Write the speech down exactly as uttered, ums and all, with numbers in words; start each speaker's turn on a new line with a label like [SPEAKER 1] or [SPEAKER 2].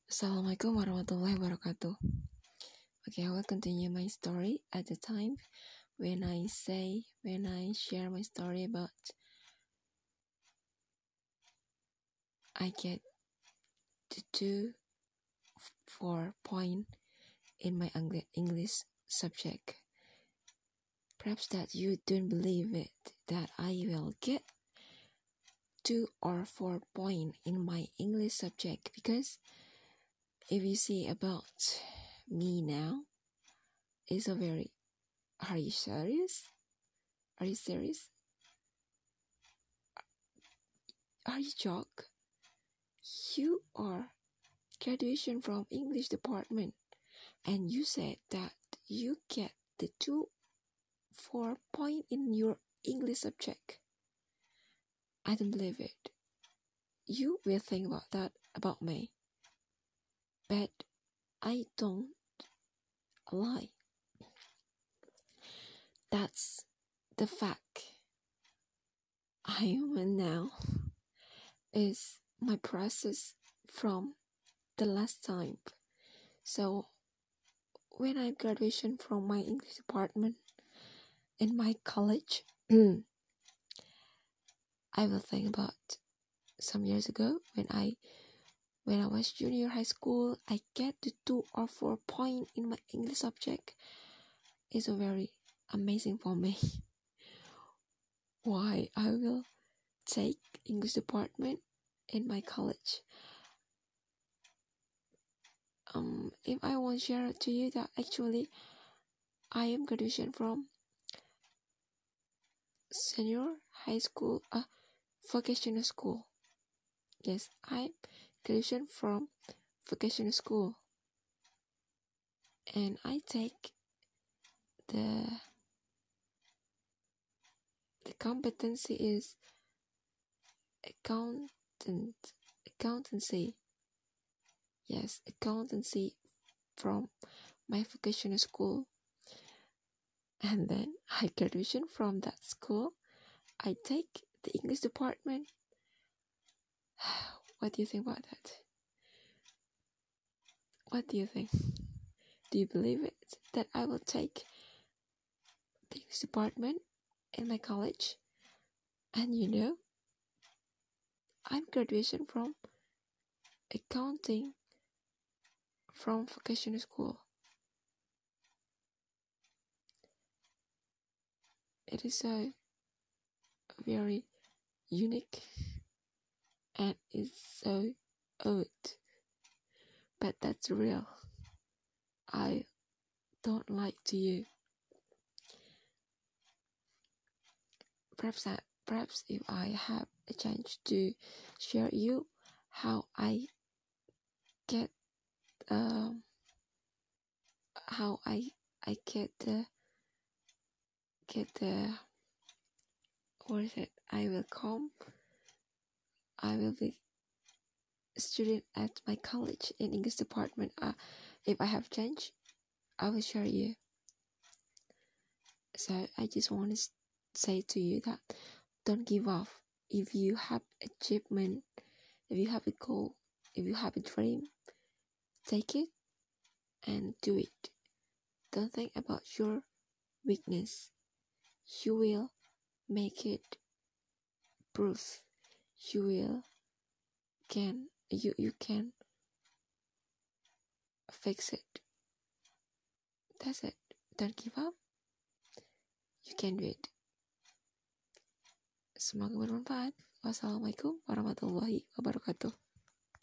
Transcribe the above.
[SPEAKER 1] Assalamualaikum warahmatullahi wabarakatuh. Okay, I will continue my story at the time when I say, when I share my story about I get to two four point in my English subject. Perhaps that you don't believe it, that I will get two or four point in my English subject, because if you see about me now, it's a very, are you serious? Are you serious? Are you joke? You are graduation from English department, and you said that you get the two four point in your English subject. I don't believe it. You will think about that about me, but I don't lie. That's the fact. I am now is my process from the last time. So when I graduation from my English department in my college, I will think about some years ago when I when I was junior high school. I get the two or four point in my English subject. It's a very amazing for me. Why I will take English department in my college. Um, if I want to share to you that actually I am graduation from senior high school, uh, vocational school. Yes, I graduation from vocational school, and I take the the competency is accountant accountancy. Yes, accountancy from my vocational school, and then I graduation from that school. I take the English department. What do you think about that? What do you think? Do you believe it that I will take the English department in my college? And you know, I'm graduation from accounting from vocational school. It is so very unique and it's so odd, but that's real. I don't lie to you. Perhaps that, perhaps if I have a chance to share you how I get um how I I get the get the what is it? I will come. I will be a student at my college in English department. Uh, if I have chance, I will share you. So I just want to say to you that don't give up. If you have achievement, if you have a goal, if you have a dream, take it and do it. Don't think about your weakness. You will make it proof. You will can you you can fix it. That's it. Don't give up. You can do it. Semoga bermanfaat. Wassalamualaikum warahmatullahi wabarakatuh.